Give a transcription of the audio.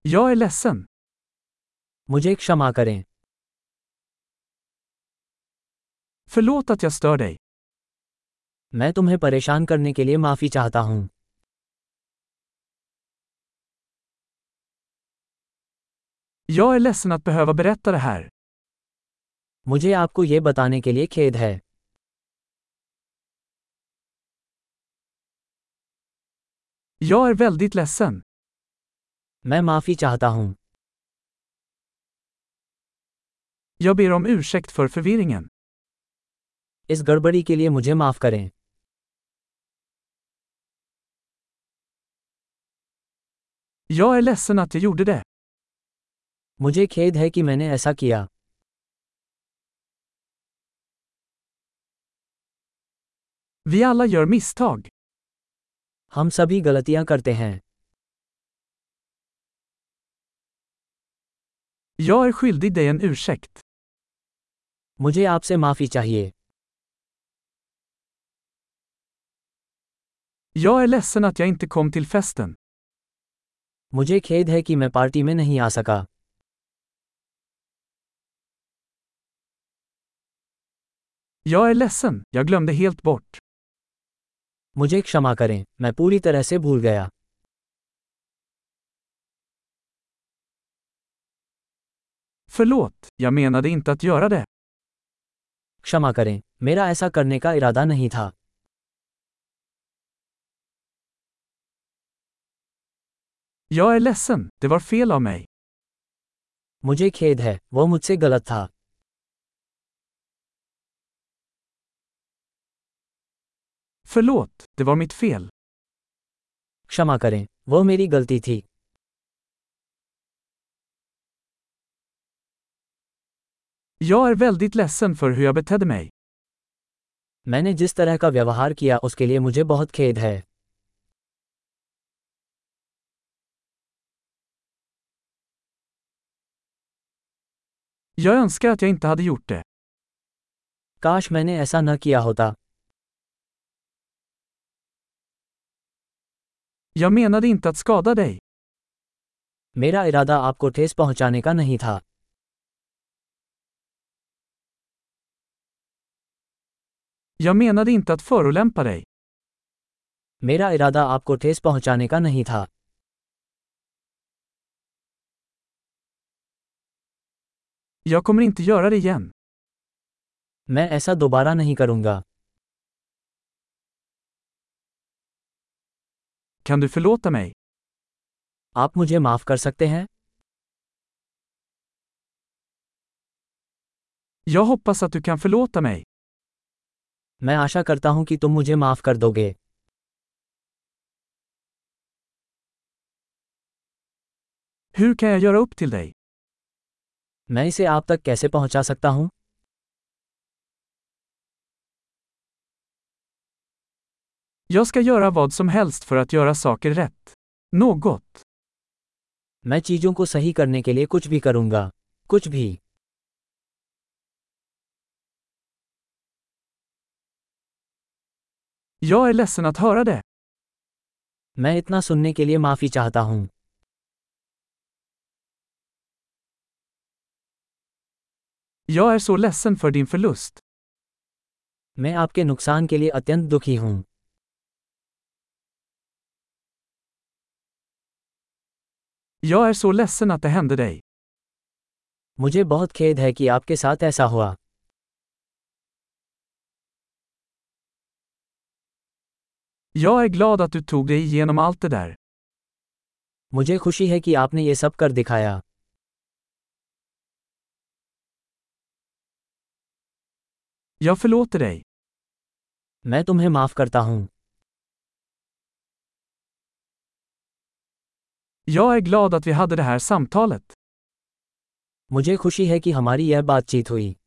Jag är ledsen. मुझे क्षमा करें। Förlåt att jag stör dig. मैं तुम्हें परेशान करने के लिए माफ़ी चाहता हूँ। Jag är ledsen att behöva berätta det här. मुझे आपको ये बताने के लिए खेद है। Jag är väldigt ledsen. मैं माफ़ी चाहता हूँ। Jag ber om ursäkt för förvirringen. इस गड़बड़ी के लिए मुझे माफ़ करें। Jag är ledsen att jag gjorde det. मुझे खेद है कि मैंने ऐसा किया। Vi alla gör misstag. हम सभी गलतियाँ करते हैं। Jag är skyldig dig en ursäkt. मुझे आपसे माफ़ी चाहिए। Jag är ledsen att jag inte kom till festen. मुझे खेद है कि मैं पार्टी में नहीं आ सका। Jag är ledsen, jag glömde helt bort. मुझे क्षमा करें, मैं पूरी तरह से भूल गया। Förlåt, jag menade inte att göra det. क्षमा करें, मेरा ऐसा करने का इरादा नहीं था। Jag är ledsen, det var fel av mig. मुझे खेद है, वो मुझसे गलत था। Förlåt, det var mitt fel. क्षमा करें, वो मेरी गलती थी। Jag är väldigt ledsen för hur jag betedde mig. मैंने जिस तरह का व्यवहार किया उसके लिए मुझे बहुत खेद है। Jag önskar att jag inte hade gjort det. काश मैंने ऐसा न किया होता। Jag menade inte att skada dig. मेरा इरादा आपको ठेस पहुंचाने का नहीं था। Jag menade inte att förolämpa dig. मेरा इरादा आपको ठेस पहुंचाने का नहीं था। Jag kommer inte göra det igen. मैं ऐसा दोबारा नहीं करूंगा। Kan du förlåta mig? आप मुझे माफ कर सकते हैं? Jag hoppas att du kan förlåta mig. मैं आशा करता हूं कि तुम मुझे माफ कर दोगे। Hur kan jag göra upp till dig? मैं इसे आप तक कैसे पहुंचा सकता हूं? Jag ska göra vad som helst för att göra saker rätt. Något. मैं चीजों को सही करने के लिए कुछ भी करूंगा। कुछ भी। Jag är ledsen att höra det. मैं इतना सुनने के लिए माफी चाहता हूं। Jag är så ledsen för din förlust. मैं आपके नुकसान के लिए अत्यंत दुखी हूं। Jag är så ledsen att det hände dig. मुझे बहुत खेद है कि आपके साथ ऐसा हुआ। Jag är glad att du tog dig igenom allt det där. मुझे खुशी है कि आपने ये सब कर दिखाया। Jag förlåter dig. मैं तुम्हें माफ करता हूं। Jag är glad att vi hade det här samtalet. मुझे खुशी है कि हमारी यह बातचीत हुई।